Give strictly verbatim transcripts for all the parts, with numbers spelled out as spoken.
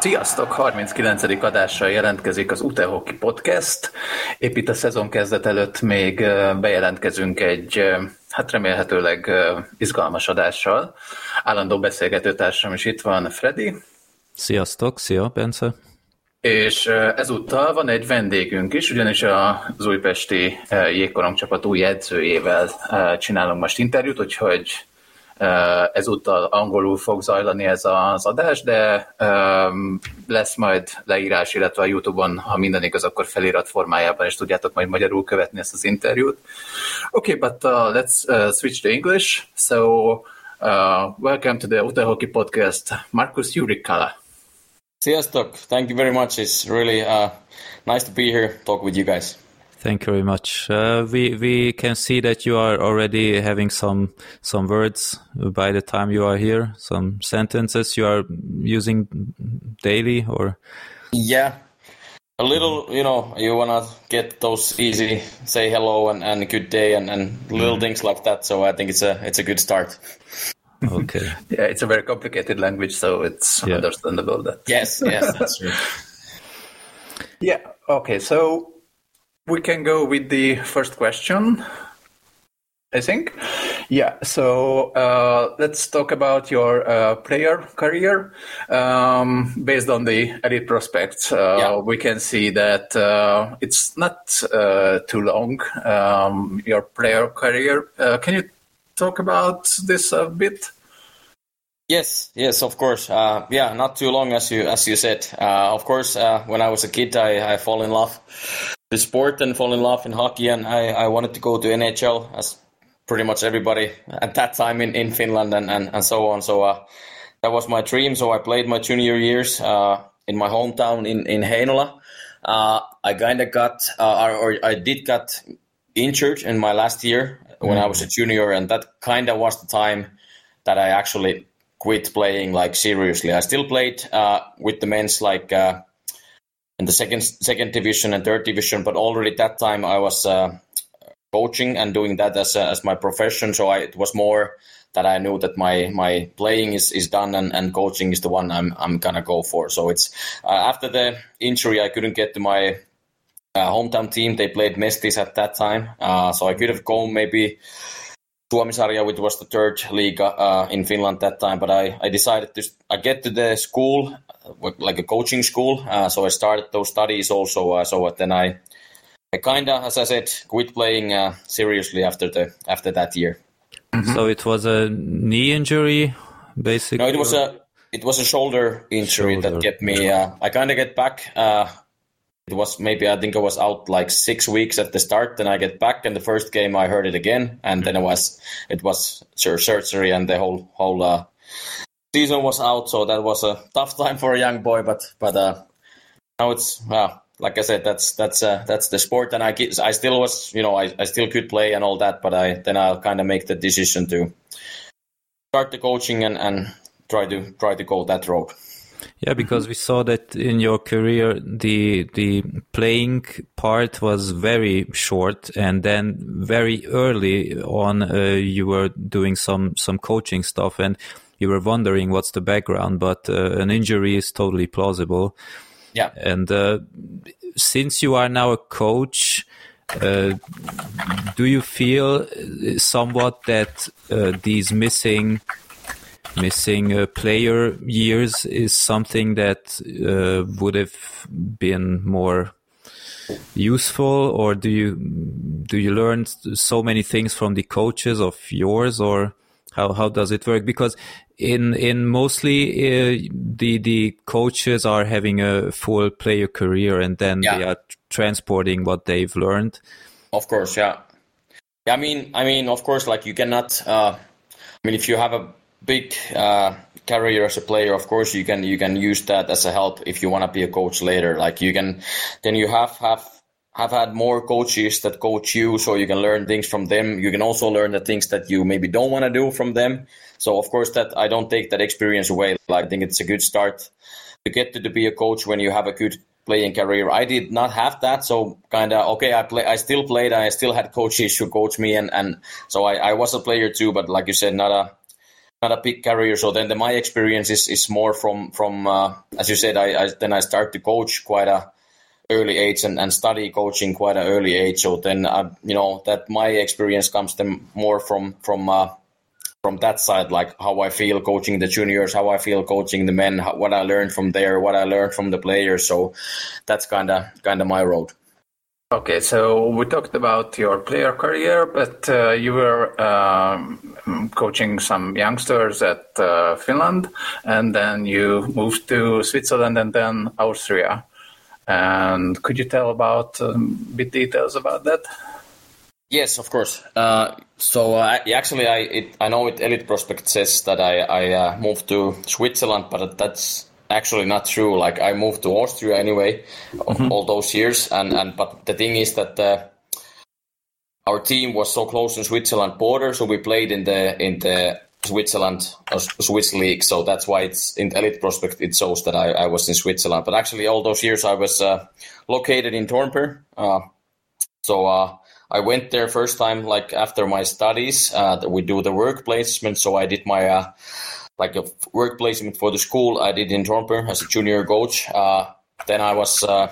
Sziasztok! harminckilencedik adással jelentkezik az Utehoki Podcast. Épp itt a szezon kezdet előtt még bejelentkezünk egy, hát remélhetőleg izgalmas adással. Állandó beszélgetőtársam is itt van, Freddy. Sziasztok! Szia, Bence! És ezúttal van egy vendégünk is, ugyanis az újpesti jégkorong csapat új edzőjével csinálunk most interjút, úgyhogy ezúttal angolul fog zajlani ez az adás, de um, lesz majd leírás, illetve a YouTube-on, ha minden igaz, akkor felirat formájában is tudjátok majd magyarul követni ezt az interjút. Okay, but uh, let's uh, switch to English. So, uh, welcome to the Utehoki Podcast, Markus Jurikala. Sziasztok! Thank you very much. It's really uh, nice to be here, talk with you guys. Thank you very much. Uh, we we can see that you are already having some some words by the time you are here, some sentences you are using daily, or yeah, a little. You know, you wanna get those easy, say hello and, and good day and, and little mm. things like that. So I think it's a it's a good start. Okay. Yeah, it's a very complicated language, so it's yeah. understandable that. Yes, yes, that's true. Yeah. Okay. So. We can go with the first question, I think. Yeah, so uh, let's talk about your uh, player career. Um, based on the elite prospects, uh, yeah. we can see that uh, it's not uh, too long, um, your player career. Uh, can you talk about this a bit? Yes, yes, of course. Uh, yeah, not too long, as you as you said. Uh, of course, uh, when I was a kid, I, I fall in love with sport and fall in love in hockey, and I, I wanted to go to N H L, as pretty much everybody at that time in, in Finland and, and, and so on. So uh, that was my dream. So I played my junior years uh, in my hometown in, in Heinola. Uh, I kind of got, uh, or, or I did got injured in my last year when mm. I was a junior, and that kind of was the time that I actually quit playing like seriously. I still played uh, with the men's like uh, in the second second division and third division, but already that time I was uh, coaching and doing that as a, as my profession. So I, it was more that I knew that my my playing is, is done and, and coaching is the one I'm I'm gonna go for. So it's uh, after the injury I couldn't get to my uh, hometown team. They played Mestis at that time, uh, so I could have gone maybe Suomisarja, which was the third league uh, in Finland that time, but I, I decided to I get to the school, like a coaching school, uh, so I started those studies also. Uh, so then I, I kind of, as I said, quit playing uh, seriously after the after that year. Mm-hmm. So it was a knee injury, basically. No, it was a it was a shoulder injury shoulder. that kept me. Uh, I kind of get back. Uh, It was maybe, I think I was out like six weeks at the start, then I get back, and the first game I hurt it again, and then it was it was surgery, and the whole whole uh, season was out, so that was a tough time for a young boy, but but uh, now it's, uh, like I said, that's that's uh, that's the sport, and I I still was, you know, I, I still could play and all that, but I then I'll kind of make the decision to start the coaching and, and try to try to go that road. Yeah, because we saw that in your career, the the playing part was very short, and then very early on, uh, you were doing some some coaching stuff, and you were wondering what's the background. But uh, an injury is totally plausible. Yeah, and uh, since you are now a coach, uh, do you feel somewhat that uh, these missing Missing uh, player years is something that uh, would have been more useful, or do you do you learn so many things from the coaches of yours, or how how does it work? Because in in mostly uh, the the coaches are having a full player career, and then yeah. they are transporting what they've learned. Of course, yeah. yeah I mean, I mean, of course, like you cannot. Uh, I mean, if you have a big uh, career as a player, of course you can you can use that as a help if you want to be a coach later. Like you can, then you have have have had more coaches that coach you, so you can learn things from them. You can also learn the things that you maybe don't want to do from them. So of course that I don't take that experience away. Like, I think it's a good start to get to, to be a coach when you have a good playing career. I did not have that, so kind of okay. I play. I still played. I still had coaches who coached me, and and so I, I was a player too. But like you said, not a not a big career. So then the, my experience is, is more from from uh, as you said. I, I then I start to coach quite a early age and, and study coaching quite an early age. So then I, you know that my experience comes then more from from uh, from that side, like how I feel coaching the juniors, how I feel coaching the men, how, what I learned from there, what I learned from the players. So that's kind of kind of my road. Okay, so we talked about your player career, but uh, you were um, coaching some youngsters at uh, Finland, and then you moved to Switzerland and then Austria. And could you tell about a um, bit details about that? Yes, of course. Uh, so uh, actually, I it, I know it Elite Prospect says that I, I uh, moved to Switzerland, but that's actually not true. Like I moved to Austria anyway, mm-hmm. all those years, and, and but the thing is that uh, our team was so close in Switzerland border, so we played in the in the Switzerland uh, Swiss league. So that's why it's in Elite Prospect it shows that I, I was in Switzerland. But actually, all those years I was uh, located in Dornbirn. Uh, so. Uh, I went there first time, like after my studies, uh, we do the work placement. So I did my, uh, like a work placement for the school. I did in Dornbirn as a junior coach. Uh, then I was, uh,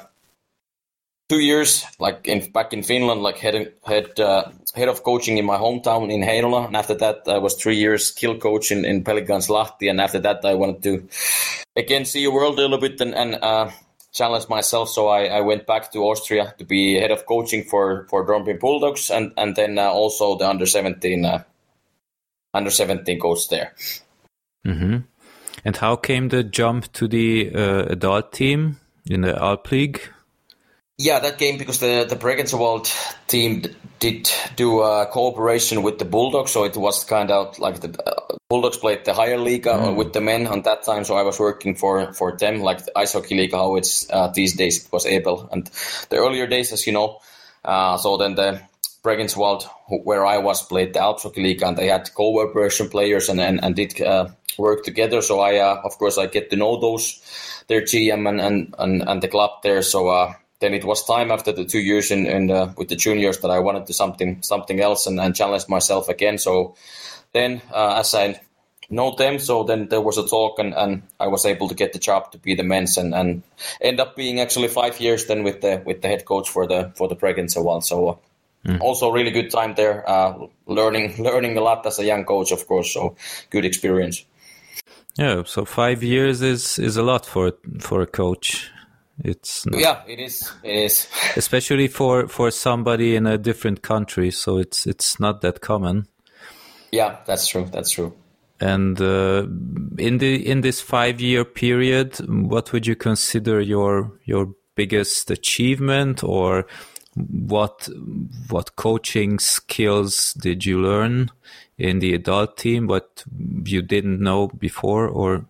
two years, like in, back in Finland, like head, head, uh, head of coaching in my hometown in Heinola. And after that, I was three years skill coach in, in Pelicans Lahti. And after that, I wanted to again see the world a little bit and, and, uh, challenge myself, so I, I went back to Austria to be head of coaching for for Dornbirn Bulldogs, and and then uh, also the under seventeen uh, under seventeen coach there. Mm-hmm. And how came the jump to the uh, adult team in the Alp League? Yeah, that came because the the Bregenzerwald team did do a cooperation with the Bulldogs, so it was kind of like the uh, Bulldogs played the higher league mm. with the men on that time, so I was working for, for them, like the ice hockey league, how it's uh, these days it was able. And the earlier days, as you know, uh, so then the Bregenzerwald, where I was, played the Alps Hockey League, and they had cooperation players and and, and did uh, work together. So I, uh, of course, I get to know those their G M and and and, and the club there. So. Uh, Then it was time after the two years in, in uh, with the juniors that I wanted to something something else and, and challenge myself again. So then, uh, as I know them, so then there was a talk, and, and I was able to get the job to be the men's, and, and end up being actually five years then with the with the head coach for the for the Bregenzerwald. So uh, mm. also really good time there, uh, learning learning a lot as a young coach, of course. So good experience. Yeah, so five years is is a lot for for a coach. It's not, yeah, it is. It is, especially for, for somebody in a different country. So it's it's not that common. Yeah, that's true. That's true. And uh, in the in this five year period, what would you consider your your biggest achievement, or what what coaching skills did you learn in the adult team? What you didn't know before, or?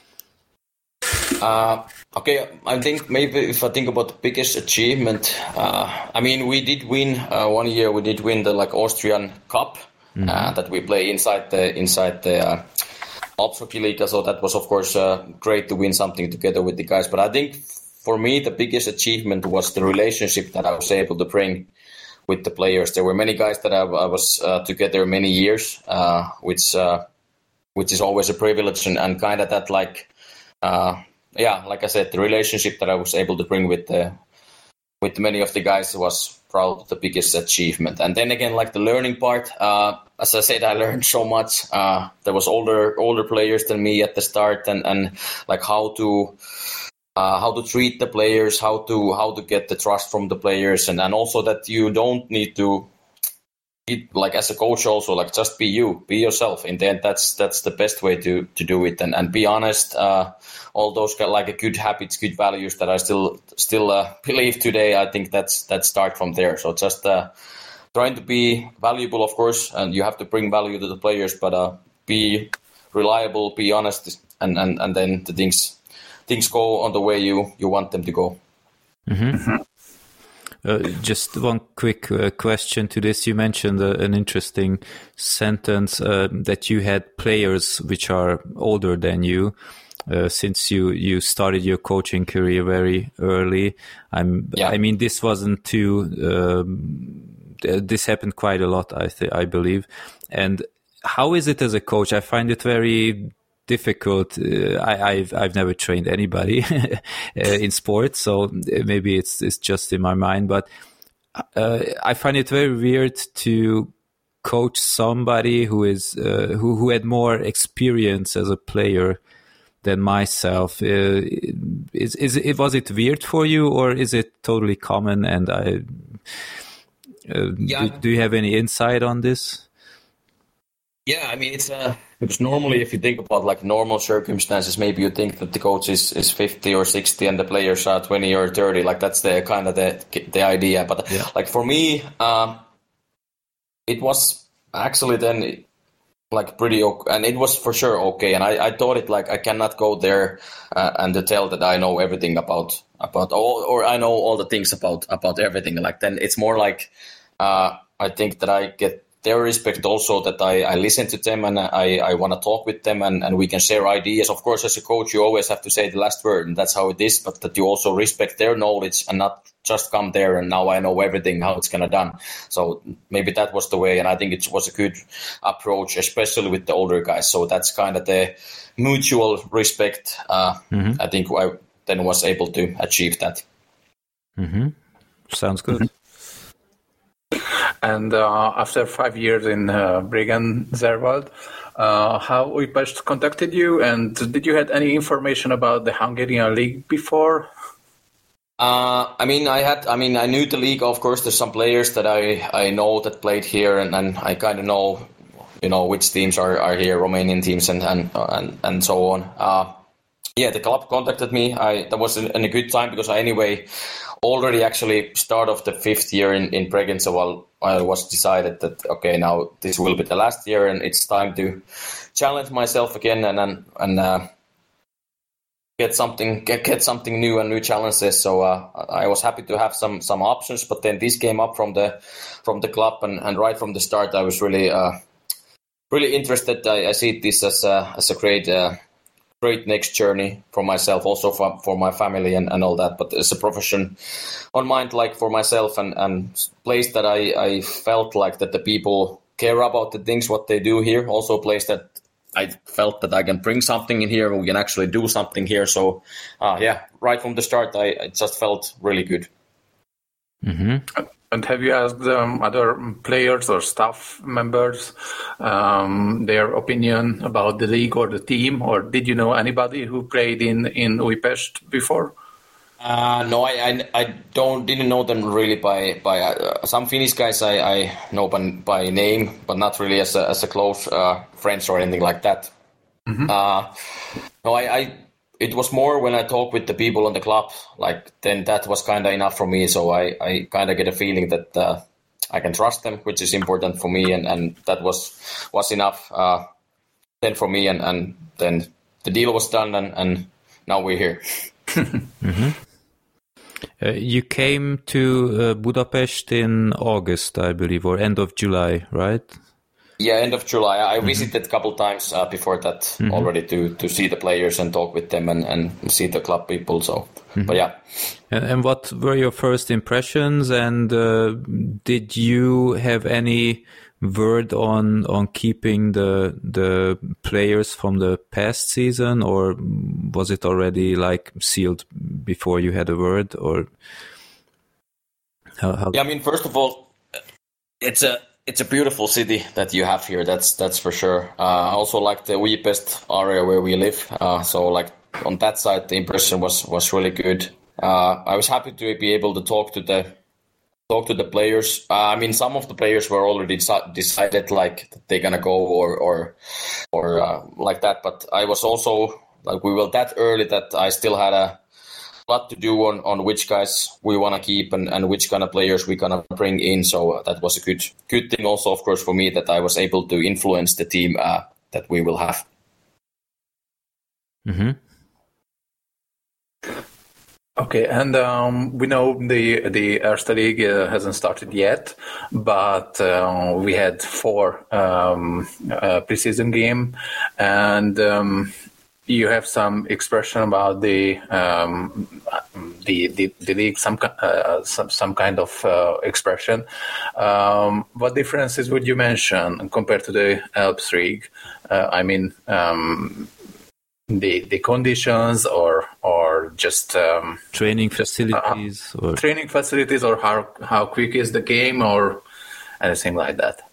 Uh, okay, I think maybe if I think about the biggest achievement, uh, I mean, we did win uh, one year. We did win the like Austrian Cup mm-hmm. uh, that we play inside the inside the uh, Alps Hockey League. So that was, of course, uh, great to win something together with the guys. But I think for me, the biggest achievement was the relationship that I was able to bring with the players. There were many guys that I, I was uh, together many years, uh, which uh, which is always a privilege, and, and kind of that like. Uh, Yeah, like I said, the relationship that I was able to bring with the, with many of the guys was probably the biggest achievement. And then again, like the learning part, uh, as I said, I learned so much. Uh, there was older older players than me at the start, and, and like how to uh, how to treat the players, how to how to get the trust from the players, and, and also that you don't need to. Like as a coach also, like just be you, be yourself. In the end, that's that's the best way to to do it, and and be honest. Uh, all those like good habits, good values that I still still uh, believe today. I think that's that start from there. So just uh, trying to be valuable, of course, and you have to bring value to the players, but uh, be reliable, be honest, and, and, and then the things things go on the way you you want them to go. Mm-hmm. Mm-hmm. Uh, just one quick uh, question to this. You mentioned uh, an interesting sentence uh, that you had players which are older than you. Uh, since you, you started your coaching career very early, I'm. Yeah. I mean, this wasn't too. Um, this happened quite a lot, I th- I believe, and how is it as a coach? I find it very difficult. Uh, I, I've I've never trained anybody in sports, so maybe it's it's just in my mind. But uh, I find it very weird to coach somebody who is uh, who who had more experience as a player than myself. Uh, is is it was it weird for you, or is it totally common? And I uh, yeah. do, do you have any insight on this? Yeah, I mean, it's uh, it's normally, if you think about like normal circumstances, maybe you think that the coach is, is fifty or sixty and the players are twenty or thirty. Like that's the kind of the the idea. But yeah. like for me, um, it was actually then like pretty okay, and it was for sure okay. And I, I thought it like I cannot go there uh, and to tell that I know everything about about all, or I know all the things about about everything. Like then it's more like uh, I think that I get their respect also, that I, I listen to them and I, I want to talk with them and, and we can share ideas. Of course, as a coach, you always have to say the last word, and that's how it is, but that you also respect their knowledge and not just come there and now I know everything, how it's going to done. So maybe that was the way, and I think it was a good approach, especially with the older guys. So that's kind of the mutual respect. Uh, mm-hmm. I think I then was able to achieve that. Mm-hmm. Sounds good. Mm-hmm. And uh, after five years in uh, Bregenz-Zerwald, uh, how Újpest contacted you, and did you had any information about the Hungarian league before? Uh, I mean, I had. I mean, I knew the league. Of course, there's some players that I, I know that played here, and, and I kind of know, you know, which teams are, are here, Romanian teams, and and and, and so on. Uh, yeah, the club contacted me. I that was in, in a good time because I anyway. Already actually start of the fifth year in, in Bregenz, so while I was decided that, okay, now this will be the last year and it's time to challenge myself again and and, and uh, get something get, get something new and new challenges. So uh, I was happy to have some some options, but then this came up from the from the club and, and right from the start I was really uh, really interested. I, I see this as a, as a great uh, great next journey for myself, also for, for my family and, and all that. But as a profession on mind, like for myself and, and place that I, I felt like that the people care about the things, what they do here. Also a place that I felt that I can bring something in here. We can actually do something here. So uh, yeah, right from the start, I, I just felt really good. Mm-hmm. And have you asked um, other players or staff members um, their opinion about the league or the team, or did you know anybody who played in in Újpest before? Uh, no, I, I I don't didn't know them really by by uh, some Finnish guys I, I know by, by name, but not really as a as a close uh, friends or anything like that. Mm-hmm. Uh, no, I. I It was more when I talked with the people on the club, like then that was kind of enough for me. So I, I kind of get a feeling that uh, I can trust them, which is important for me. And, and that was was enough uh, then for me. And, and then the deal was done and, and now we're here. mm-hmm. uh, you came to uh, Budapest in August, I believe, or end of July, right? Yeah, end of July. I mm-hmm. visited a couple times uh, before that mm-hmm. already to, to see the players and talk with them and, and see the club people. So, mm-hmm. but yeah. And, and what were your first impressions? And uh, did you have any word on on keeping the the players from the past season, or was it already like sealed before you had a word? Or how? how... Yeah, I mean, first of all, it's a. It's a beautiful city that you have here. That's that's for sure. Uh, I also like the Újpest area where we live. Uh, so like on that side, the impression was was really good. Uh, I was happy to be able to talk to the talk to the players. Uh, I mean, some of the players were already decided like that they're gonna go or or or uh, like that. But I was also like we were that early that I still had a lot to do on, on which guys we want to keep and, and which kind of players we're going to bring in. So uh, that was a good good thing also, of course, for me that I was able to influence the team uh, that we will have. Mm-hmm. Okay, and um, we know the the Erste League uh, hasn't started yet, but uh, we had four um, uh, preseason game, and um, you have some expression about the um, the, the the league some uh, some some kind of uh, expression. Um, what differences would you mention compared to the Alps League? Uh, I mean, um, the the conditions, or or just um, training facilities, uh, or training facilities, or how how quick is the game, or anything like that?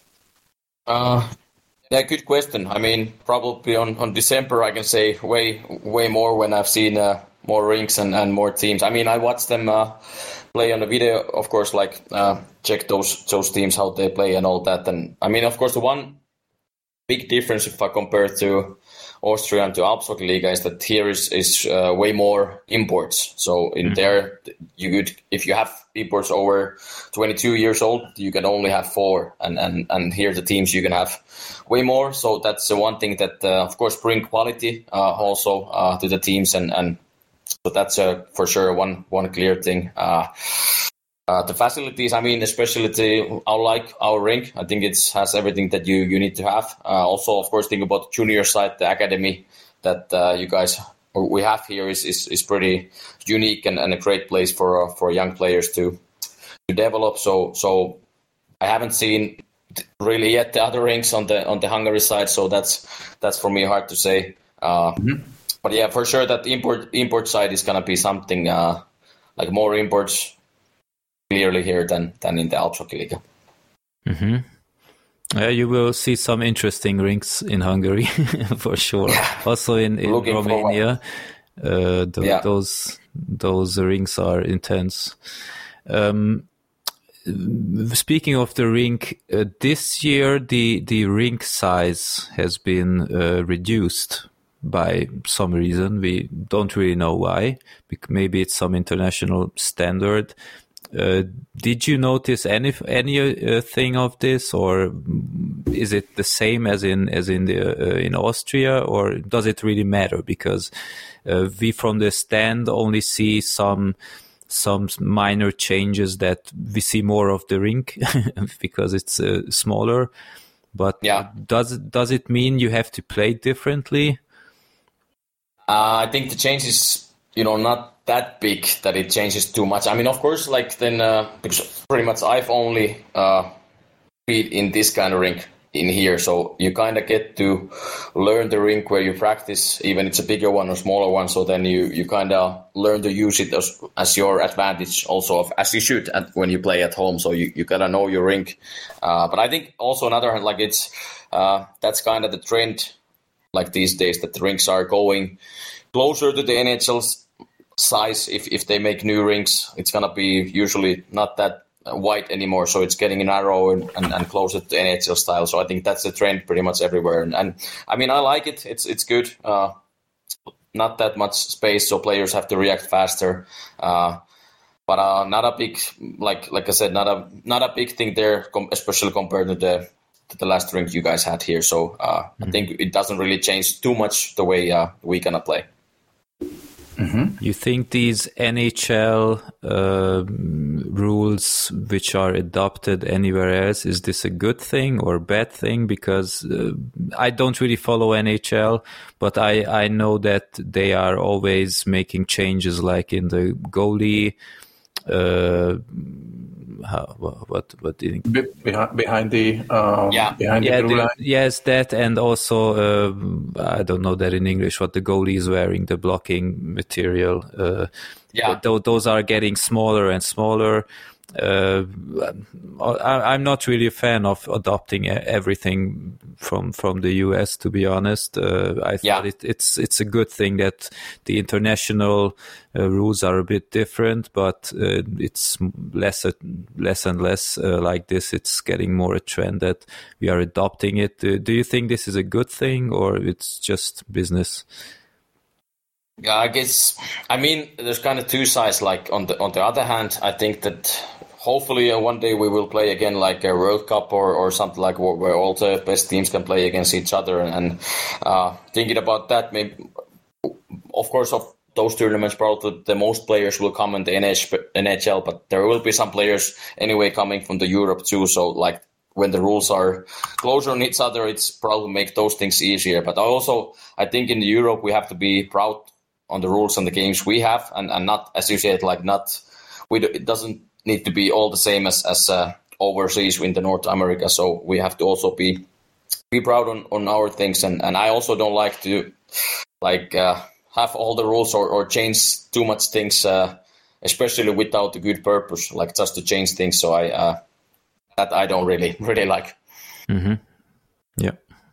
Uh, yeah, good question. I mean, probably on, on December, I can say way way more when I've seen uh, more rinks and, and more teams. I mean, I watch them uh, play on the video, of course, like uh, check those those teams, how they play and all that. And I mean, of course, the one big difference if I compare to Austria and to Alpshockeyliga is that here is is uh, way more imports. So in mm-hmm. there, you could, if you have imports over twenty-two years old, you can only have four, and and and here the teams you can have way more. So that's the one thing that uh, of course bring quality uh, also uh, to the teams, and and so that's uh, for sure one one clear thing. Uh, Uh, the facilities, I mean, especially the, I like our rink. I think it has everything that you, you need to have. Uh, also, of course, think about the junior side, the academy that uh, you guys we have here is is, is pretty unique and, and a great place for uh, for young players to to develop. So so I haven't seen really yet the other rinks on the on the Hungary side. So that's that's for me hard to say. Uh, mm-hmm. But yeah, for sure that import import side is gonna be something uh, like more imports. Clearly here than than in the Alpshockeyliga. Mm-hmm. Uh, you will see some interesting rinks in Hungary for sure. Yeah. Also in, in Romania, uh, th- yeah. those those rinks are intense. Um, speaking of the rink, uh, this year the the rink size has been uh, reduced by some reason. We don't really know why. Maybe it's some international standard. Uh, did you notice any any uh, thing of this, or is it the same as in as in the uh, in Austria, or does it really matter? Because uh, we from the stand only see some some minor changes that we see more of the rink because it's uh, smaller. But yeah. does does it mean you have to play differently? Uh, I think the change is, you know, not that big that it changes too much. I mean, of course, like then uh, because pretty much I've only uh, played in this kind of rink in here, so you kind of get to learn the rink where you practice, even it's a bigger one or smaller one. So then you you kind of learn to use it as, as your advantage, also of, as you should at, when you play at home. So you you gotta know your rink. Uh, but I think also another like it's uh, that's kind of the trend, like these days, that the rinks are going closer to the N H L's size. If if they make new rinks, it's gonna be usually not that wide anymore, so it's getting narrow and, and, and closer to N H L style. So I think that's the trend pretty much everywhere, and, and I mean I like it. It's it's good. Uh, not that much space, so players have to react faster. Uh, but uh, not a big like like I said, not a not a big thing there, especially compared to the to the last rink you guys had here. So uh, mm-hmm. I think it doesn't really change too much the way uh, we gonna play. Mm-hmm. You think these N H L uh, rules which are adopted anywhere else, is this a good thing or bad thing? Because uh, I don't really follow N H L, but I, I know that they are always making changes, like in the goalie. Uh, how, what what do you think? Be- behind, behind the um, yeah behind yeah, the blue the, line. Yes, that, and also uh, I don't know that in English, what the goalie is wearing, the blocking material. Uh, yeah, th- those are getting smaller and smaller. Uh, I, I'm not really a fan of adopting everything from from the U S, to be honest. Uh, I thought yeah. it, it's it's a good thing that the international uh, rules are a bit different, but uh, it's less less and less uh, like this. It's getting more a trend that we are adopting it. Uh, do you think this is a good thing, or it's just business? Yeah, I guess. I mean, there's kind of two sides. Like on the on the other hand, I think that hopefully uh, one day we will play again like a World Cup or, or something like where, where all the best teams can play against each other. And uh, thinking about that, maybe of course of those tournaments, probably the most players will come in the N H L, but there will be some players anyway coming from the Europe too. So like when the rules are closer on each other, it's probably make those things easier. But also I think in Europe we have to be proud on the rules and the games we have, and, and not, as you said, like not, we do, it doesn't need to be all the same as, as uh, overseas in the North America. So we have to also be be proud on, on our things. And, and I also don't like to like uh, have all the rules or, or change too much things, uh, especially without a good purpose, like just to change things. So I uh, that I don't really really like. Mm-hmm. Yeah.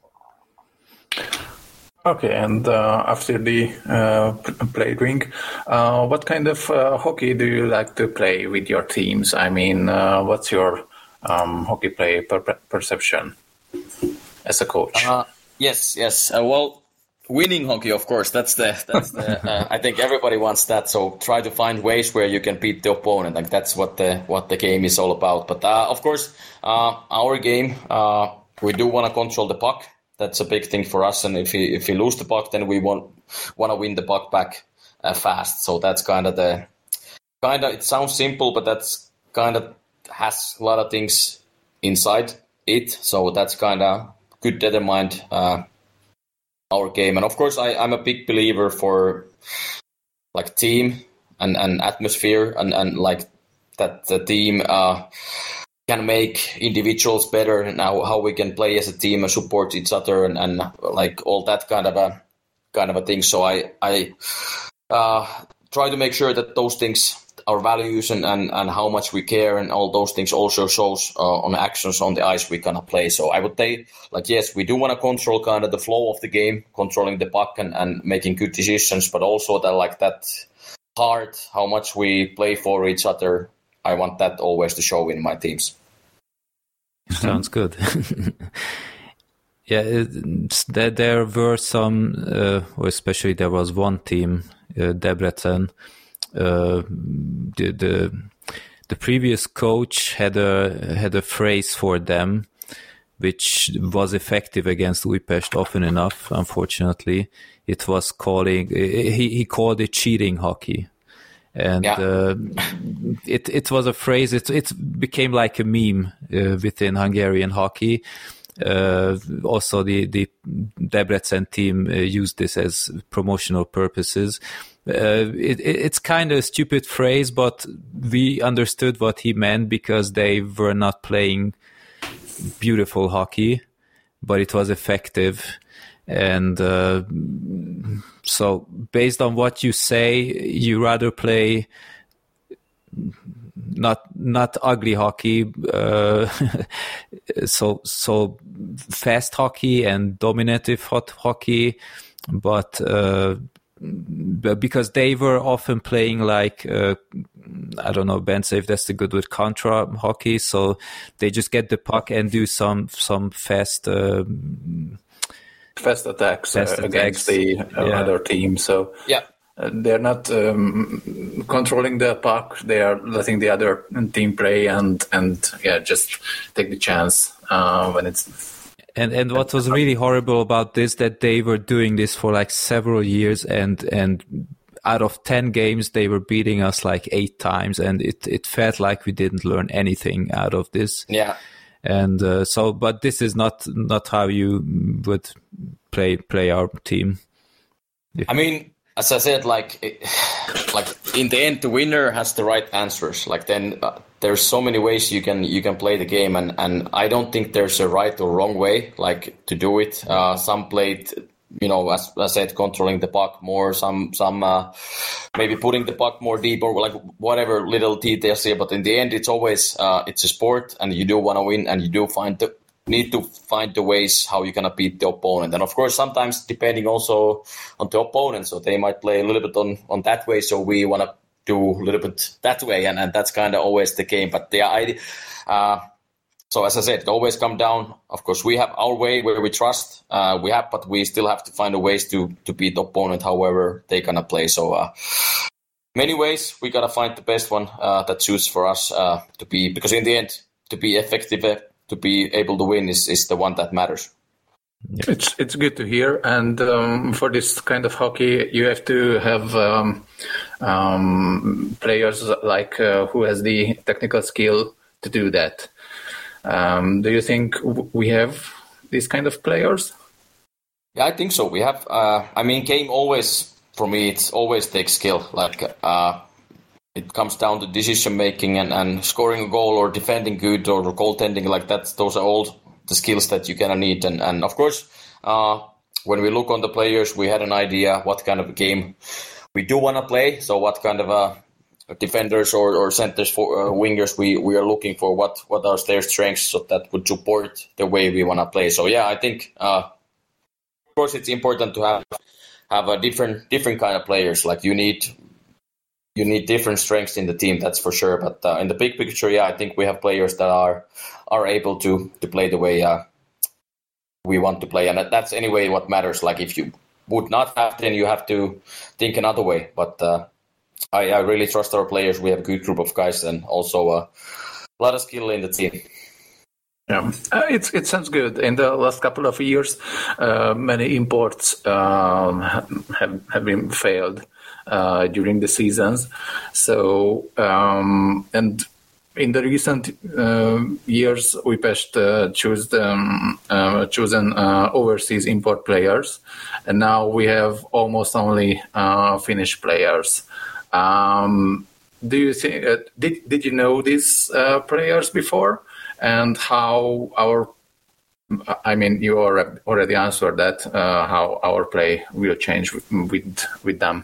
Okay, and uh, after the uh, play ring, uh, what kind of uh, hockey do you like to play with your teams? I mean, uh, what's your um, hockey play per- perception as a coach? Uh, yes, yes. Uh, well, winning hockey, of course. That's the. That's the. uh, I think everybody wants that. So try to find ways where you can beat the opponent. Like that's what the what the game is all about. But uh, of course, uh, our game, uh, we do want to control the puck. That's a big thing for us, and if we if we lose the puck, then we want want to win the puck back uh, fast. So that's kind of the kind of. It sounds simple, but that's kind of has a lot of things inside it. So that's kind of good determined uh, our game. And of course, I, I'm a big believer for like team and, and atmosphere, and, and like that the team. Uh, can make individuals better, and how, how we can play as a team and support each other, and, and like all that kind of a kind of a thing. So I I uh, try to make sure that those things, our values and, and, and how much we care and all those things also shows uh, on actions on the ice we kind of play. So I would say, like, yes, we do want to control kind of the flow of the game, controlling the puck and, and making good decisions, but also that like that heart, how much we play for each other. I want that always to show in my teams. Sounds good. Yeah, it, there, there were some, uh, or especially there was one team, uh, Debrecen. Uh, the, the the previous coach had a had a phrase for them, which was effective against Újpest often enough. Unfortunately, it was calling he he called it cheating hockey. And yeah. uh, it it was a phrase. It it became like a meme uh, within Hungarian hockey. Uh, also, the the Debrecen team uh, used this as promotional purposes. Uh, it, it, it's kind of a stupid phrase, but we understood what he meant because they were not playing beautiful hockey, but it was effective. And uh, so based on what you say, you rather play not not ugly hockey, uh, so so fast hockey and dominative hot hockey, but uh, because they were often playing like uh, I don't know, Ben, say if that's the good word, contra hockey. So they just get the puck and do some some fast. Uh, Fast attacks, Fast uh, attacks. against the uh, Yeah. other team. So Yeah. uh, they're not um, controlling the puck. They are letting the other team play and and yeah, just take the chance uh, when it's. And and what was really horrible about this, that they were doing this for like several years, and and out of ten games they were beating us like eight times, and it it felt like we didn't learn anything out of this. Yeah. And uh, so, but this is not not how you would play play our team. I mean, as I said, like it, like in the end, the winner has the right answers. Like then, uh, there's so many ways you can you can play the game, and, and I don't think there's a right or wrong way like to do it. Uh, some played, you know, as, as I said, controlling the puck more. Some some uh, maybe putting the puck more deep, or like whatever little details here. But in the end, it's always uh, it's a sport, and you do want to win, and you do find the need to find the ways how you're gonna beat the opponent. And of course, sometimes depending also on the opponent, so they might play a little bit on on that way. So we want to do a little bit that way, and, and that's kind of always the game. But the idea. Uh, So as I said, it always come down. Of course, we have our way where we trust. Uh, we have, but we still have to find a ways to to beat the opponent, however they gonna play. So uh, many ways we gotta find the best one uh, that suits for us uh, to be. Because in the end, to be effective, uh, to be able to win is is the one that matters. Yeah. It's it's good to hear, and um, for this kind of hockey, you have to have um, um, players like uh, who has the technical skill to do that. Um, do you think we have these kind of players? Yeah, I think so. We have. Uh, I mean, game always for me, it's always takes skill. Like uh, it comes down to decision making and, and scoring a goal or defending good or goaltending. Like that, those are all the skills that you're gonna need. And and of course, uh, when we look on the players, we had an idea what kind of a game we do want to play. So what kind of a defenders or, or centers for uh, wingers we, we are looking for, what what are their strengths, so that would support the way we want to play. So yeah, I think uh, of course it's important to have have a different different kind of players. Like you need you need different strengths in the team, that's for sure. But uh, in the big picture, yeah, I think we have players that are are able to to play the way uh, we want to play, and that, that's anyway what matters. Like if you would not have, then you have to think another way. But uh, I, I really trust our players. We have a good group of guys and also uh, a lot of skill in the team. Yeah, uh, it's, it sounds good. In the last couple of years, uh, many imports um, have have been failed uh, during the seasons. So um, and in the recent uh, years, Újpest uh, chose um, uh, chosen uh, overseas import players, and now we have almost only uh, Finnish players. Um, do you think uh, did did you know these uh, players before, and how our I mean you already answered that uh, how our play will change with with, with them,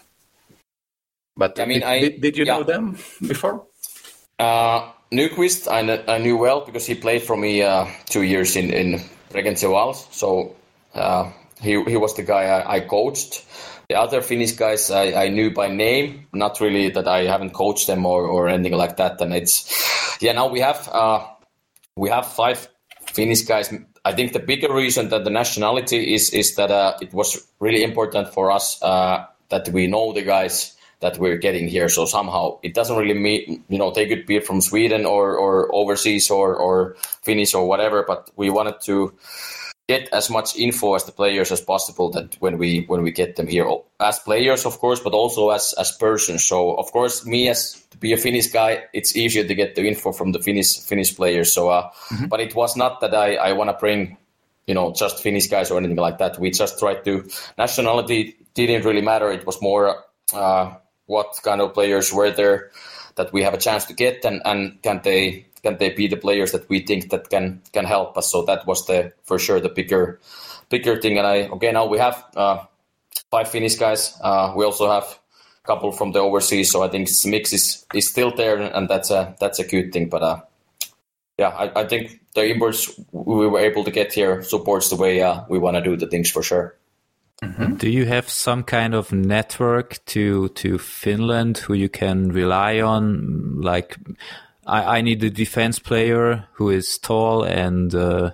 but I mean, did, I, did, did you yeah. know them before? Uh, Nyquist, I, kn- I knew well because he played for me uh, two years in in Regency Vals, so uh, he he was the guy I, I coached. The other Finnish guys I, I knew by name, not really that I haven't coached them or, or anything like that. And it's yeah, now we have uh, we have five Finnish guys. I think the bigger reason that the nationality is is that uh, it was really important for us uh, that we know the guys that we're getting here. So somehow it doesn't really mean, you know, they could be from Sweden or, or overseas or, or Finnish or whatever, but we wanted to get as much info as the players as possible that when we when we get them here as players, of course, but also as as persons. So of course, me as to be a Finnish guy, it's easier to get the info from the Finnish Finnish players. So, uh, mm-hmm. But it was not that I I want to bring, you know, just Finnish guys or anything like that. We just tried to, nationality didn't really matter. It was more uh, what kind of players were there that we have a chance to get, and, and can they can they be the players that we think that can can help us. So that was the for sure the bigger bigger thing. And I okay now we have uh, five Finnish guys. Uh, we also have a couple from the overseas. So I think this mix is, is still there, and that's a that's a good thing. But uh, yeah, I, I think the imports we were able to get here supports the way uh, we want to do the things for sure. Mm-hmm. Do you have some kind of network to to Finland who you can rely on? Like, I, I need a defense player who is tall and uh,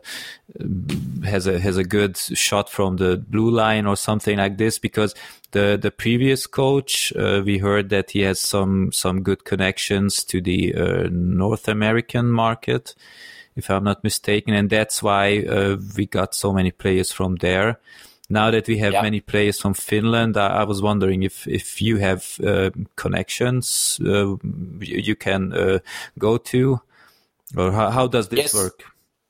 has a has a good shot from the blue line or something like this. Because the the previous coach, uh, we heard that he has some some good connections to the uh, North American market, if I'm not mistaken, and that's why uh, we got so many players from there. Now that we have yeah. many players from Finland, I, I was wondering if, if you have uh, connections uh, you, you can uh, go to, or how, how does this yes. work?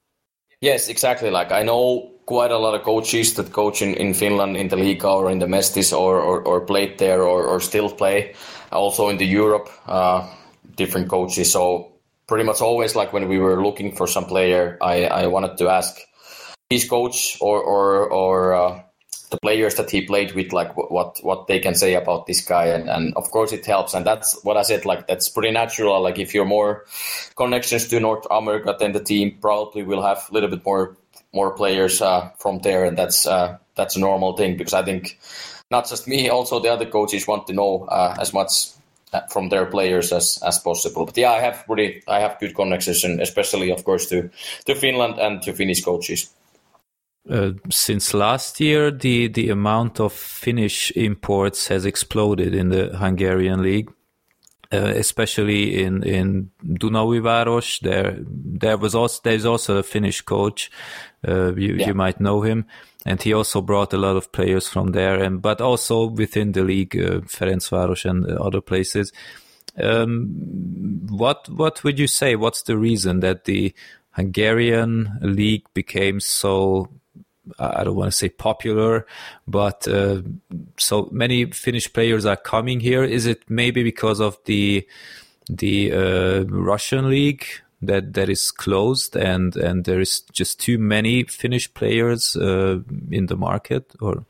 Yes, exactly. Like I know quite a lot of coaches that coach in, in Finland in the Liiga or in the Mestis or, or, or played there or, or still play. Also in the Europe, uh, different coaches. So pretty much always like when we were looking for some player, I, I wanted to ask his coach or or, or uh, the players that he played with, like what what they can say about this guy, and, and of course it helps, and that's what I said, like that's pretty natural. Like if you're more connections to North America, then the team probably will have a little bit more more players uh, from there, and that's uh, that's a normal thing, because I think not just me, also the other coaches want to know uh, as much from their players as as possible. But yeah, I have really I have good connections, and especially of course to to Finland and to Finnish coaches. Uh, since last year, the, the amount of Finnish imports has exploded in the Hungarian league, uh, especially in in Dunaújváros. There, there was also there's also a Finnish coach. Uh, you yeah. you might know him, and he also brought a lot of players from there, and but also within the league, uh, Ferencváros and other places. Um, what what would you say? What's the reason that the Hungarian league became so I don't want to say popular, but uh, so many Finnish players are coming here. Is it maybe because of the the uh, Russian league that that is closed and and there is just too many Finnish players uh, in the market? Or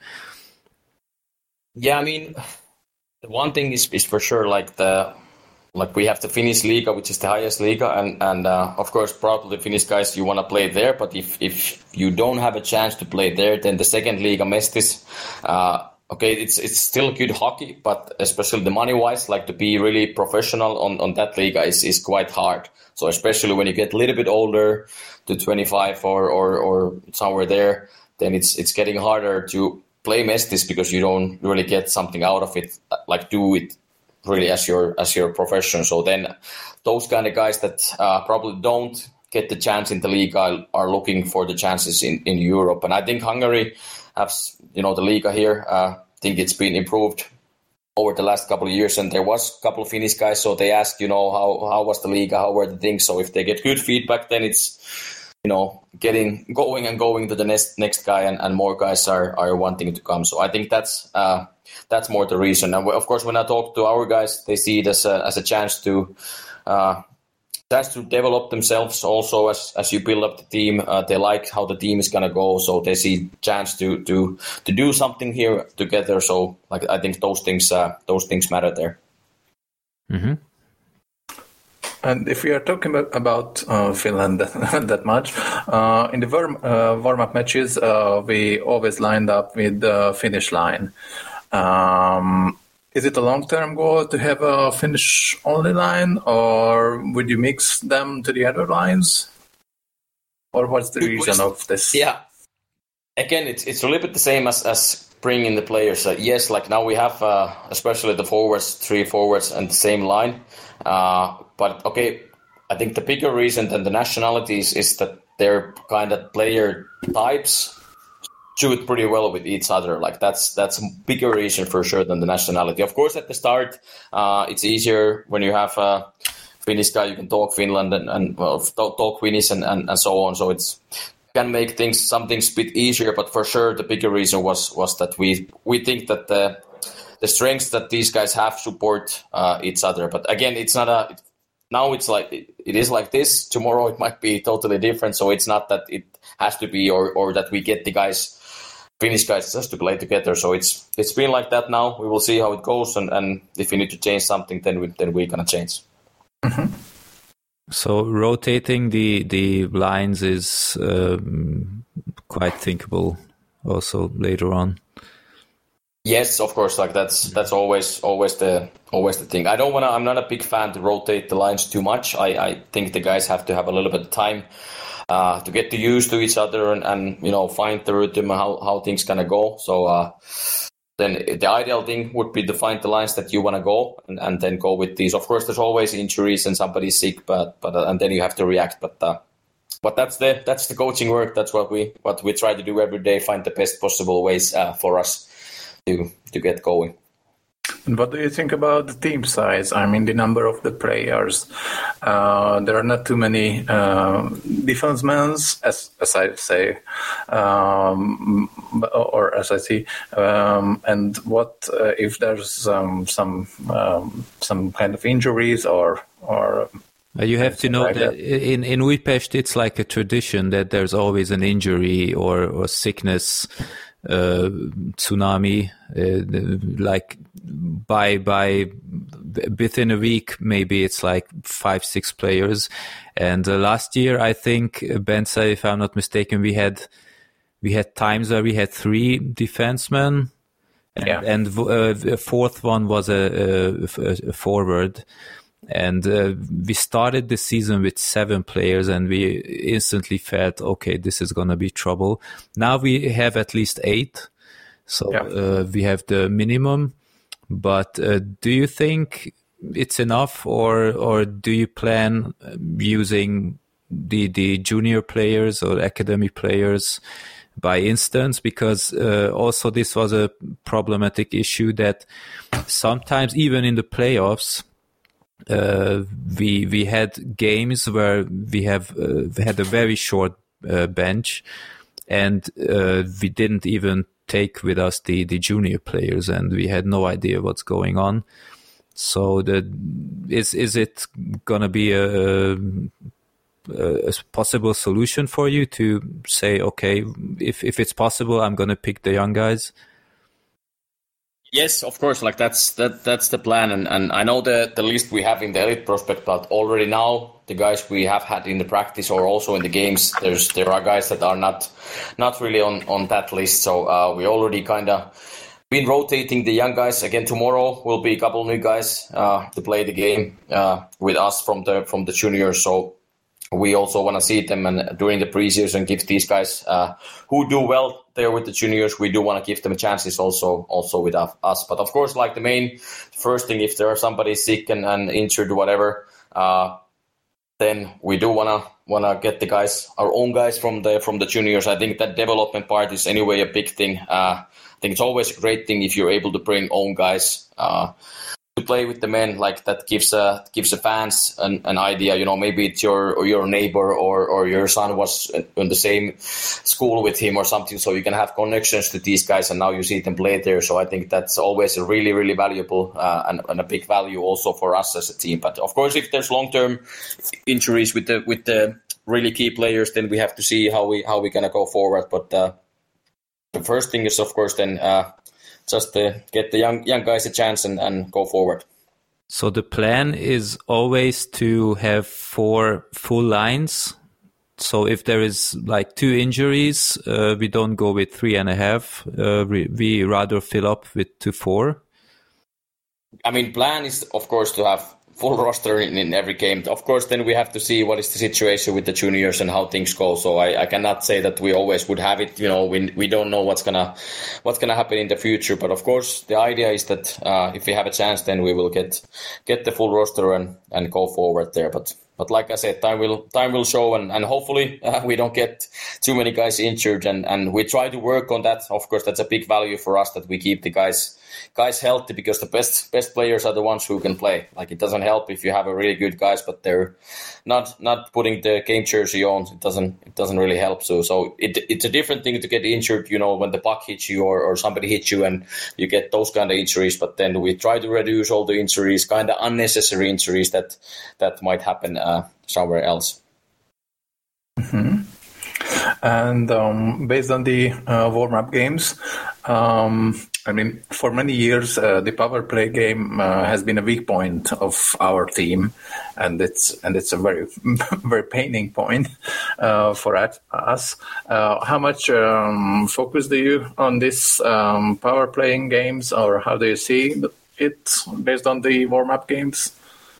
yeah, I mean, the one thing is is for sure like the like we have the Finnish Liga, which is the highest Liga, and and uh, of course probably the Finnish guys you want to play there, but if if you don't have a chance to play there, then the second Liga Mestis, uh, okay, it's it's still good hockey, but especially the money wise, like to be really professional on, on that Liga is, is quite hard. So especially when you get a little bit older, to twenty-five or, or, or somewhere there, then it's it's getting harder to play Mestis because you don't really get something out of it, like do it really as your as your profession. So then those kind of guys that uh, probably don't get the chance in the league are, are looking for the chances in, in Europe. And I think Hungary has, you know, the Liga here, uh, I think it's been improved over the last couple of years. And there was a couple of Finnish guys, so they asked, you know, how, how was the Liga, how were the things? So if they get good feedback, then it's, you know, getting going and going to the next next guy, and, and more guys are, are wanting to come. So I think that's uh, that's more the reason. And of course, when I talk to our guys, they see it as a, as a chance to uh, chance to develop themselves. Also, as as you build up the team, uh, they like how the team is gonna go, so they see chance to to to do something here together. So like I think those things uh, those things matter there. Mm-hmm. And if we are talking about, about uh, Finland that much, uh, in the warm, uh, warm-up matches, uh, we always lined up with the Finnish line. Um, is it a long-term goal to have a Finnish-only line, or would you mix them to the other lines? Or what's the reason of this? Yeah. Again, it's it's a little bit the same as, as bringing the players. Uh, yes, like now we have, uh, especially the forwards, three forwards and the same line. Uh, but okay, I think the bigger reason than the nationalities is that their kind of player types shoot pretty well with each other. Like that's that's a bigger reason for sure than the nationality. Of course, at the start, uh, it's easier when you have a Finnish guy. You can talk Finland and, and well, talk, talk Finnish and, and, and so on. So it's can make things some things a bit easier. But for sure, the bigger reason was was that we we think that the the strengths that these guys have support uh, each other. But again, it's not a now it's like it, it is like this. Tomorrow it might be totally different. So it's not that it has to be or or that we get the guys. Finnish guys just to play together, so it's it's been like that now. We will see how it goes, and, and if we need to change something, then we then we're gonna change. Mm-hmm. So rotating the the lines is um, quite thinkable, also later on. Yes, of course. Like that's that's always always the always the thing. I don't wanna. I'm not a big fan to rotate the lines too much. I, I think the guys have to have a little bit of time. Uh, to get to used to each other and, and you know find the rhythm how how things gonna go. So uh, then the ideal thing would be to find the lines that you want to go and, and then go with these. Of course, there's always injuries and somebody's sick, but but uh, and then you have to react. But uh, but that's the that's the coaching work. That's what we what we try to do every day. Find the best possible ways uh, for us to to get going. And what do you think about the team size? I mean, the number of the players. Uh, there are not too many uh, defensemen, as as I say, um, or as I see. Um, and what uh, if there's um, some um, some kind of injuries or or? Uh, you have to know like that, that in in Újpest it's like a tradition that there's always an injury or or sickness. Uh, tsunami, uh, like by by within a week, maybe it's like five six players. And uh, last year, I think uh, Bence, if I'm not mistaken, we had we had times where we had three defensemen, and, yeah. and uh, a fourth one was a, a, a forward. And uh, we started the season with seven players, and we instantly felt, okay, this is going to be trouble. Now we have at least eight, so yeah. uh, we have the minimum. But uh, do you think it's enough, or or do you plan using the the junior players or academy players by instance? Because uh, also this was a problematic issue that sometimes even in the playoffs, Uh, we we had games where we have uh, had a very short uh, bench, and uh, we didn't even take with us the, the junior players, and we had no idea what's going on. So the is is it gonna be a, a possible solution for you to say, okay, if if it's possible, I'm gonna pick the young guys? Yes, of course. Like that's that that's the plan, and, and I know the the list we have in the elite prospect, but already now the guys we have had in the practice or also in the games, there's there are guys that are not not really on, on that list. So uh, we already kind of been rotating the young guys. Again, tomorrow will be a couple new guys uh, to play the game uh, with us from the from the juniors. So we also want to see them, and during the preseason give these guys uh, who do well there with the juniors, we do want to give them chances also also with us. But of course, like the main first thing, if there are somebody sick and, and injured or whatever, uh, then we do want to want to get the guys, our own guys from the from the juniors. I think that development part is anyway a big thing. Uh, I think it's always a great thing if you're able to bring own guys uh, to play with the men. Like that gives a gives the fans an, an idea. You know, maybe it's your or your neighbor or or your son was in the same school with him or something, so you can have connections to these guys, and now you see them play there. So I think that's always a really really valuable uh, and, and a big value also for us as a team. But of course, if there's long term injuries with the with the really key players, then we have to see how we how we're gonna go forward. But uh, the first thing is, of course, then. Uh, Just uh, get the young young guys a chance and, and go forward. So the plan is always to have four full lines. So if there is like two injuries, uh, we don't go with three and a half. Uh, we, we rather fill up with two four. I mean, plan is of course to have full roster in, in every game. Of course, then we have to see what is the situation with the juniors and how things go. So I, I cannot say that we always would have it. You know, we we don't know what's gonna what's gonna happen in the future. But of course, the idea is that uh, if we have a chance, then we will get get the full roster and, and go forward there. But but like I said, time will time will show, and and hopefully uh, we don't get too many guys injured, and and we try to work on that. Of course, that's a big value for us that we keep the guys. guys healthy, because the best best players are the ones who can play. Like, it doesn't help if you have a really good guys, but they're not not putting the game jersey on. It doesn't it doesn't really help. So so it it's a different thing to get injured, you know, when the puck hits you or, or somebody hits you and you get those kind of injuries. But then we try to reduce all the injuries, kind of unnecessary injuries that that might happen uh, somewhere else. Mm-hmm. And um, based on the uh, warm-up games, um, I mean, for many years, uh, the power play game uh, has been a weak point of our team, and it's and it's a very, very paining point uh, for us. Uh, how much um, focus do you on this um, power playing games, or how do you see it based on the warm-up games?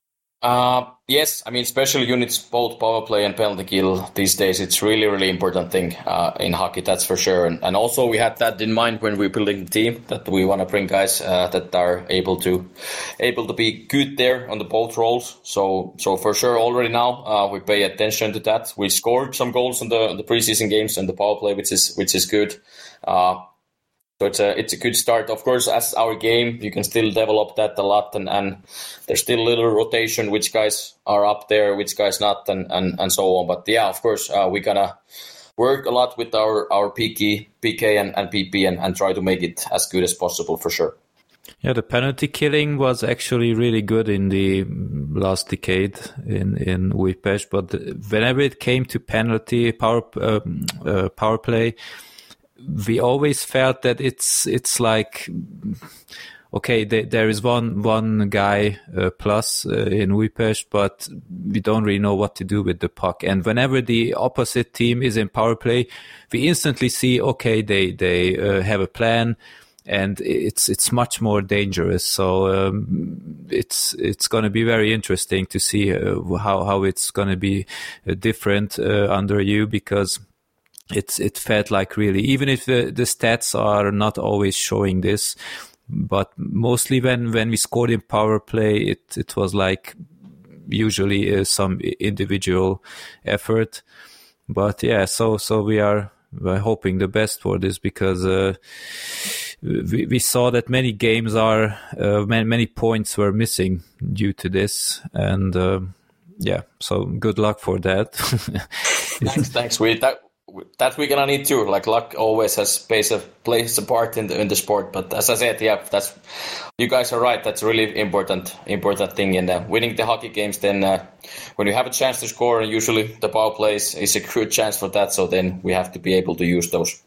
Uh, yes, I mean, special units, both power play and penalty kill these days, it's really, really important thing uh, in hockey, that's for sure. And, and also we had that in mind when we were building the team, that we want to bring guys uh, that are able to able to be good there on the both roles. So so for sure, already now uh, we pay attention to that. We scored some goals in the, the preseason games and the power play, which is which is good. Uh, So it's a it's a good start. Of course, as our game, you can still develop that a lot, and, and there's still a little rotation, which guys are up there, which guys not, and, and, and so on. But yeah, of course, uh, we're gonna work a lot with our, our P K, P K and, and P P and, and try to make it as good as possible for sure. Yeah, the penalty killing was actually really good in the last decade in in Újpest, but whenever it came to penalty power uh, uh, power play, we always felt that it's it's like, okay, th- there is one one guy uh, plus uh, in Újpest, but we don't really know what to do with the puck. And whenever the opposite team is in power play, we instantly see, okay, they they uh, have a plan, and it's it's much more dangerous. So um, it's it's going to be very interesting to see uh, how how it's going to be uh, different uh, under you, because It's it felt like really, even if the, the stats are not always showing this, but mostly when, when we scored in power play, it, it was like usually uh, some individual effort. But yeah, so so we are we're hoping the best for this, because uh, we, we saw that many games are uh, many, many points were missing due to this, and uh, yeah, so good luck for that. Thanks, thanks. We that. that we're gonna need too. Like luck always has plays a plays a part in the in the sport. But as I said, yeah, that's you guys are right. That's a really important important thing. And uh, winning the hockey games, then uh, when you have a chance to score, and usually the power plays is a good chance for that. So then we have to be able to use those.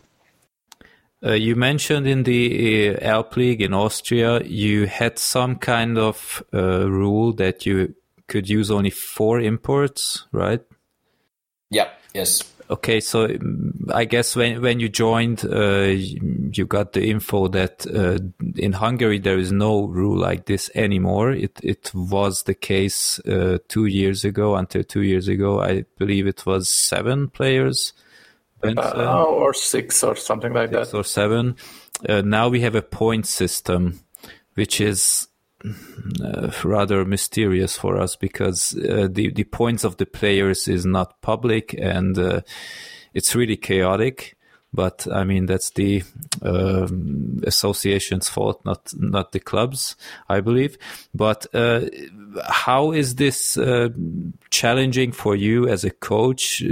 Uh, you mentioned in the uh, Alp League in Austria, you had some kind of uh, rule that you could use only four imports, right? Yeah. Yes. Okay, so I guess when when you joined, uh, you got the info that uh, in Hungary there is no rule like this anymore. It it was the case uh, two years ago. Until two years ago, I believe it was seven players. Uh, or six or something like six that. Or seven. Uh, now we have a point system, which is uh, rather mysterious for us because uh, the, the points of the players is not public and uh, it's really chaotic. But I mean, that's the uh, association's fault, not not the club's, I believe. But uh, how is this uh, challenging for you as a coach?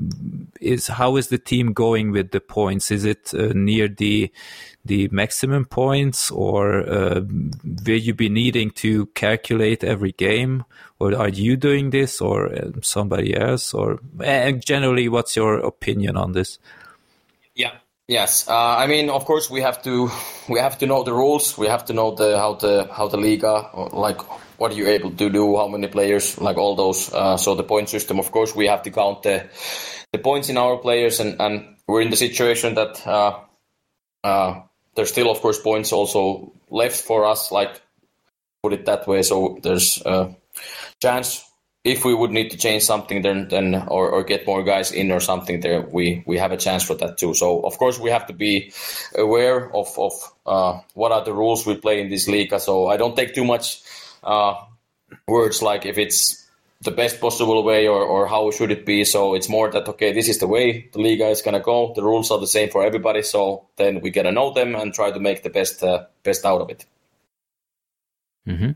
Is how is the team going with the points? Is it uh, near the the maximum points, or uh, will you be needing to calculate every game, or are you doing this, or somebody else, or and generally, what's your opinion on this? Yeah. Yes. Uh, I mean, of course, we have to we have to know the rules. We have to know the how the how the Liga, like what are you able to do, how many players, like all those. Uh, so the point system, of course, we have to count the the points in our players, and, and we're in the situation that uh, uh, there's still, of course, points also left for us. Like put it that way. So there's a chance. If we would need to change something, then then or, or get more guys in or something, there we, we have a chance for that too. So of course we have to be aware of of uh, what are the rules we play in this league. So I don't take too much uh, words like if it's the best possible way or, or how should it be. So it's more that okay, this is the way the Liga is gonna go. The rules are the same for everybody. So then we gotta know them and try to make the best uh, best out of it. Mm-hmm.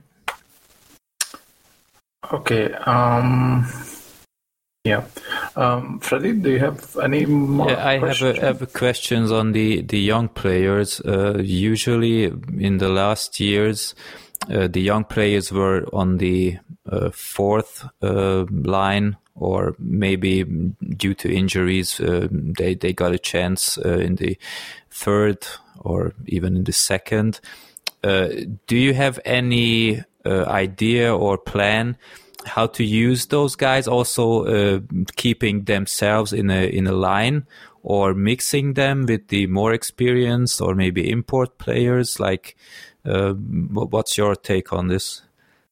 Okay. Um, yeah. Um, Freddie, do you have any more yeah, I questions? have a, have a questions on the, the young players. Uh, usually in the last years, uh, the young players were on the uh, fourth uh, line, or maybe due to injuries, uh, they, they got a chance uh, in the third or even in the second. Uh, do you have any uh, idea or plan how to use those guys, also uh, keeping themselves in a in a line, or mixing them with the more experienced or maybe import players? Like, uh, what's your take on this?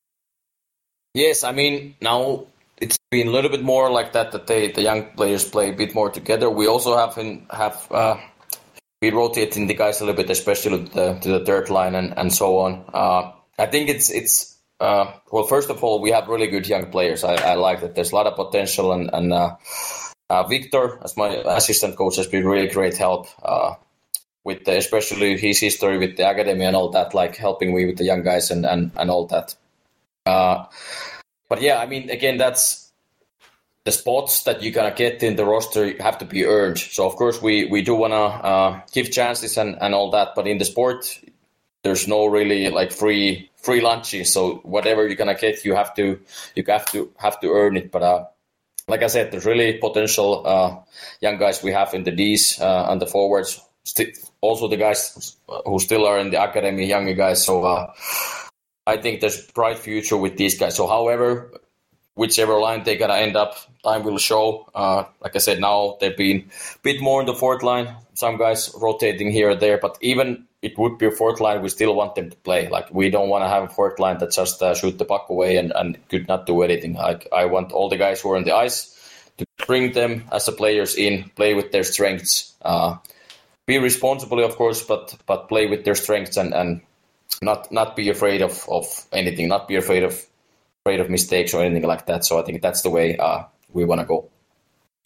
Yes, I mean, now it's been a little bit more like that, that they, the young players play a bit more together. We also have in, have uh, we rotating the guys a little bit, especially to the, to the third line and, and so on. Uh, I think it's it's uh, well, first of all, we have really good young players. I, I like that. There's a lot of potential, and, and uh, uh, Victor, as my assistant coach, has been really great help uh, with the, especially his history with the academy and all that, like helping me with the young guys and, and, and all that. Uh, but yeah, I mean, again, that's the spots that you're gonna get in the roster have to be earned. So of course we, we do wanna uh, give chances and, and all that, but in the sport, there's no really like free free lunches. So whatever you're gonna get, you have to you have to have to earn it. But uh, like I said, there's really potential uh, young guys we have in the Ds uh, and the forwards. St- also the guys who still are in the academy, younger guys. So. Uh, I think there's bright future with these guys. So, however, whichever line they're gonna end up, time will show. Uh, like I said, now they've been a bit more in the fourth line. Some guys rotating here or there, but even it would be a fourth line, we still want them to play. Like we don't want to have a fourth line that just uh, shoot the puck away and, and could not do anything. Like I want all the guys who are on the ice to bring them as the players in, play with their strengths, uh, be responsibly, of course, but but play with their strengths and and. Not not be afraid of, of anything, not be afraid of afraid of mistakes or anything like that. So I think that's the way uh, we want to go.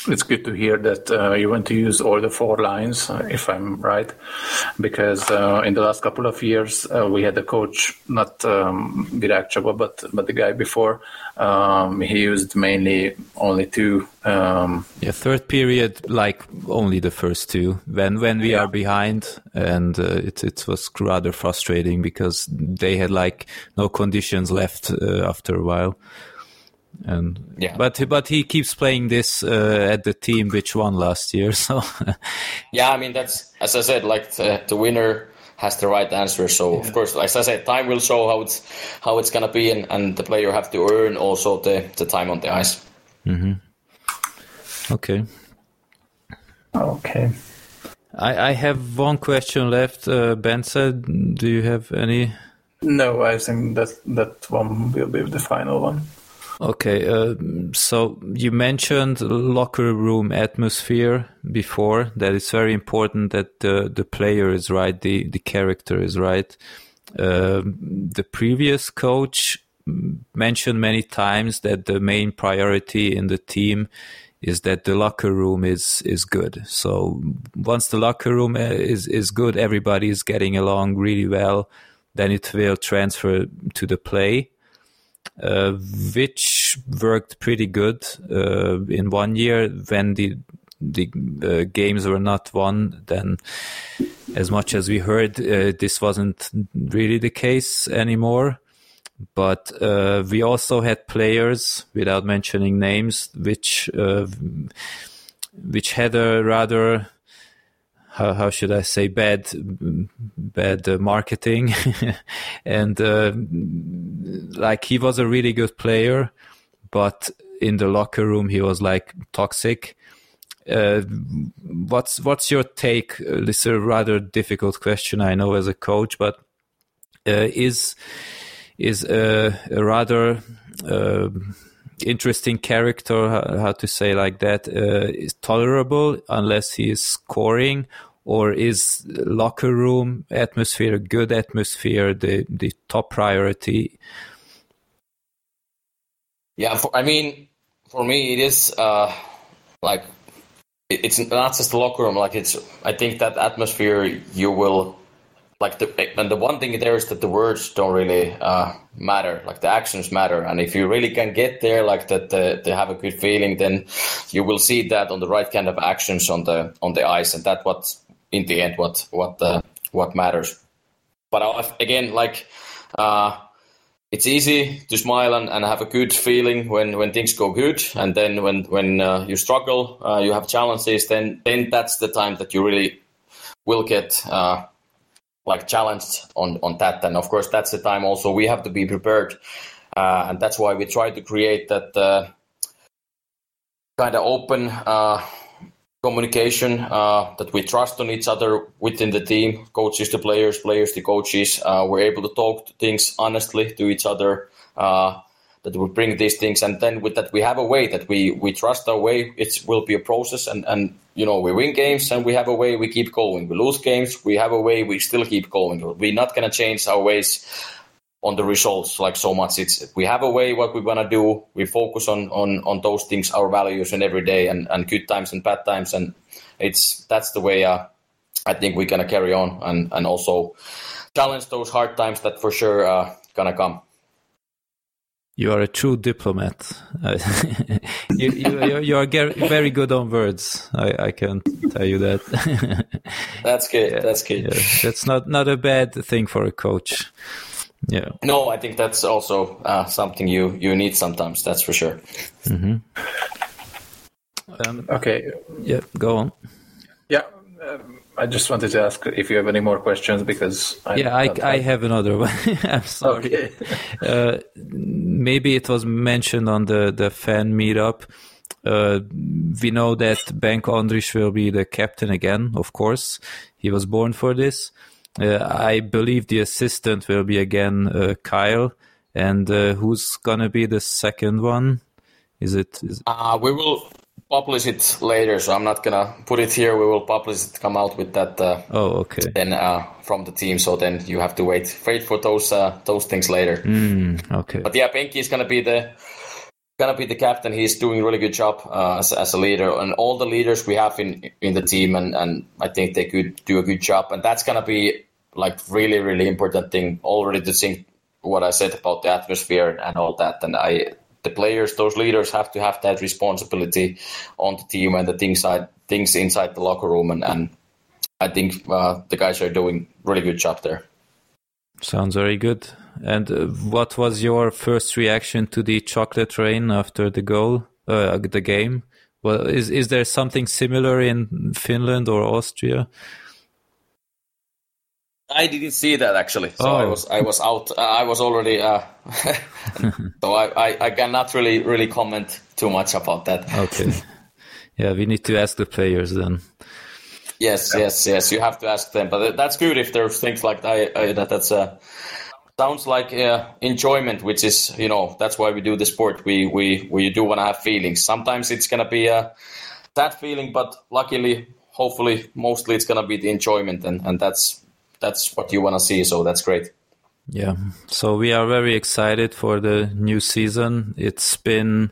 It's good to hear that uh, you want to use all the four lines, uh, if I'm right, because uh, in the last couple of years uh, we had a coach, not um, Virág Csaba, but but the guy before. Um, he used mainly only two. Um, yeah, third period, like only the first two. When when we yeah. are behind, and uh, it it was rather frustrating because they had like no conditions left uh, after a while. And yeah, but but he keeps playing this uh, at the team which won last year. So yeah, I mean that's, as I said, like the, the winner has the right answer. So yeah. Of course, as I said, time will show how it's how it's gonna be, and, and the player have to earn also the, the time on the ice. Mm-hmm. Okay. Okay. I I have one question left. Uh, Bence, do you have any? No, I think that that one will be the final one. Okay, uh, so you mentioned locker room atmosphere before, that it's very important that the, the player is right, the, the character is right. Uh, the previous coach mentioned many times that the main priority in the team is that the locker room is, is good. So once the locker room is, is good, everybody is getting along really well, then it will transfer to the play. Uh, which worked pretty good uh, in one year when the the uh, games were not won. Then, as much as we heard, uh, this wasn't really the case anymore. But uh, we also had players, without mentioning names, which uh, which had a rather How, how should I say, bad, bad uh, marketing. And uh, like he was a really good player, but in the locker room he was like toxic. Uh, what's what's your take? Uh, this is a rather difficult question, I know, as a coach, but uh, is is a, a rather uh, interesting character, how, how to say like that, uh, is tolerable unless he is scoring, or is locker room atmosphere, good atmosphere, the, the top priority? Yeah, for, I mean, for me, it is uh, like, it, it's not just the locker room. Like it's, I think that atmosphere you will, like the, and the one thing there is that the words don't really uh, matter, like the actions matter. And if you really can get there, like that, uh, they have a good feeling, then you will see that on the right kind of actions on the on the ice, and that's what, in the end, what what uh, what matters. But again, like uh, it's easy to smile and, and have a good feeling when, when things go good, and then when when uh, you struggle, uh, you have challenges, then then that's the time that you really will get. Uh, like challenged on, on that. And of course, that's the time also we have to be prepared. Uh, and that's why we try to create that uh, kind of open uh, communication, uh, that we trust on each other within the team, coaches to players, players to coaches. Uh, we're able to talk things honestly to each other, uh, that we bring these things. And then with that, we have a way that we, we trust our way. It will be a process, and, and you know, we win games and we have a way we keep going. We lose games, we have a way we still keep going. We're not going to change our ways on the results like so much. It's we have a way what we want to do. We focus on, on, on those things, our values, and every day, and, and good times and bad times. And it's that's the way uh, I think we're going to carry on, and, and also challenge those hard times that for sure uh, going to come. You are a true diplomat. you, you, you are very good on words. I, I can tell you that. That's good. Yeah, that's good. Yeah. That's not, not a bad thing for a coach. Yeah. No, I think that's also uh, something you, you need sometimes. That's for sure. Mm-hmm. Um, okay. Yeah, go on. Yeah. Um, I just wanted to ask if you have any more questions, because I yeah, I, I have another one. I'm sorry. Okay. uh, maybe it was mentioned on the, the fan meetup. Uh, we know that Benko Andris will be the captain again, of course. He was born for this. Uh, I believe the assistant will be again uh, Kyle. And uh, who's going to be the second one? Is it? Is... Uh, we will publish it later, so I'm not gonna put it here. We will publish it, come out with that. Uh, oh, okay. Then uh, from the team, so then you have to wait, wait for those uh, those things later. Mm, okay. But yeah, Benki is gonna be the gonna be the captain. He's doing a really good job uh, as, as a leader, and all the leaders we have in in the team, and, and I think they could do a good job. And that's gonna be like really, really important thing already to think what I said about the atmosphere and all that. And I, the players, those leaders have to have that responsibility on the team and the things side, things inside the locker room. And, and I think uh, the guys are doing really good job there. Sounds very good. And uh, what was your first reaction to the chocolate rain after the goal, uh, the game? Well, is is there something similar in Finland or Austria? I didn't see that actually. So oh. I was I was out. Uh, I was already. Uh, so I, I, I cannot really really comment too much about that. Okay. Yeah, we need to ask the players then. Yes, yeah. yes, yes. You have to ask them. But that's good if there's things like that. I, that that's uh, sounds like uh, enjoyment, which is, you know, that's why we do the sport. We we we do want to have feelings. Sometimes it's gonna be a sad feeling, but luckily, hopefully, mostly it's gonna be the enjoyment, and, and that's that's what you want to see. So that's great. Yeah. So we are very excited for the new season. It's been.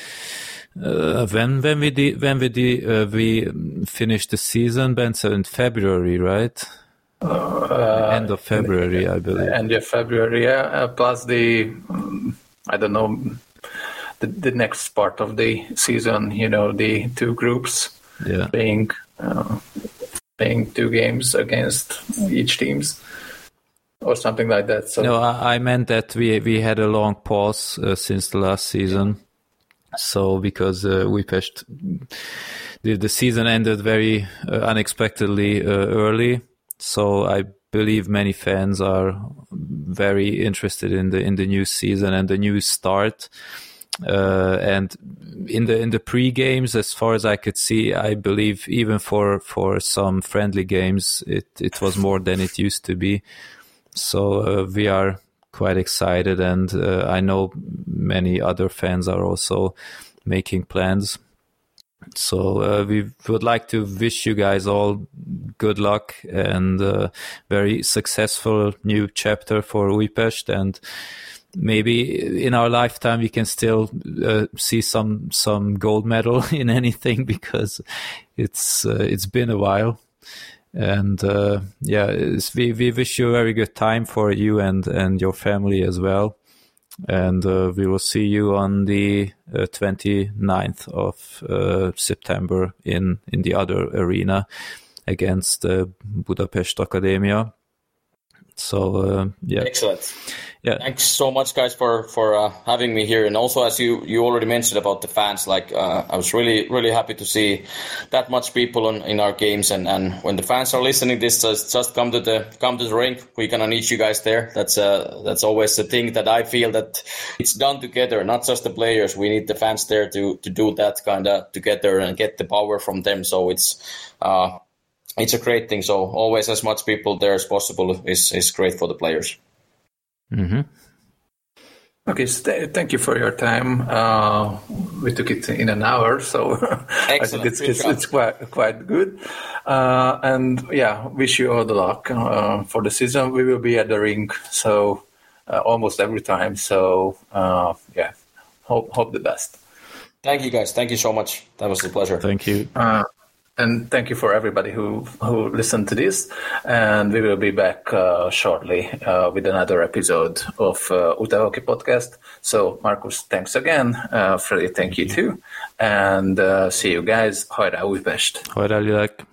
Uh, when when we did, when we did, uh, we finished the season, Ben, so in February, right? Uh, end of February, I believe. End of February, yeah. Uh, plus the, um, I don't know, the, the next part of the season. You know, the two groups, yeah, playing uh, playing two games against each teams, or something like that. So no, I, I meant that we we had a long pause uh, since the last season. So because uh, Újpest, the, the season ended very uh, unexpectedly uh, early. So I believe many fans are very interested in the in the new season and the new start. Uh, and in the in the pre-games, as far as I could see, I believe even for for some friendly games, it it was more than it used to be. So uh, we are quite excited, and uh, I know many other fans are also making plans. So uh, we would like to wish you guys all good luck and uh, very successful new chapter for Újpest, and maybe in our lifetime we can still uh, see some some gold medal in anything, because it's uh, it's been a while. And uh, yeah, we we wish you a very good time for you and and your family as well. And uh, we will see you on the uh, twenty-ninth of uh, September in in the other arena against uh, Budapest Academia. So uh, yeah, excellent. Yeah, thanks so much, guys, for for uh, having me here. And also, as you you already mentioned about the fans, like uh, I was really really happy to see that much people on, in our games. And, and when the fans are listening to this, just, just come to the come to the rink. We're gonna need you guys there. That's uh that's always the thing that I feel that it's done together, not just the players. We need the fans there to to do that kind of together and get the power from them. So it's uh it's a great thing. So always as much people there as possible is is great for the players. Mm-hmm. Okay, st- thank you for your time. Uh, we took it in an hour, so I think it's, it's, it's quite quite good. Uh, and yeah, wish you all the luck uh, for the season. We will be at the rink, so uh, almost every time. So uh, yeah, hope hope the best. Thank you, guys. Thank you so much. That was a pleasure. Thank you. Uh, And thank you for everybody who, who listened to this. And we will be back uh, shortly uh, with another episode of uh, Uta Hockey Podcast. So, Markus, thanks again. Uh, Freddy, thank you too. And uh, see you guys. Hajrá Újpest! Hajrá Lilek!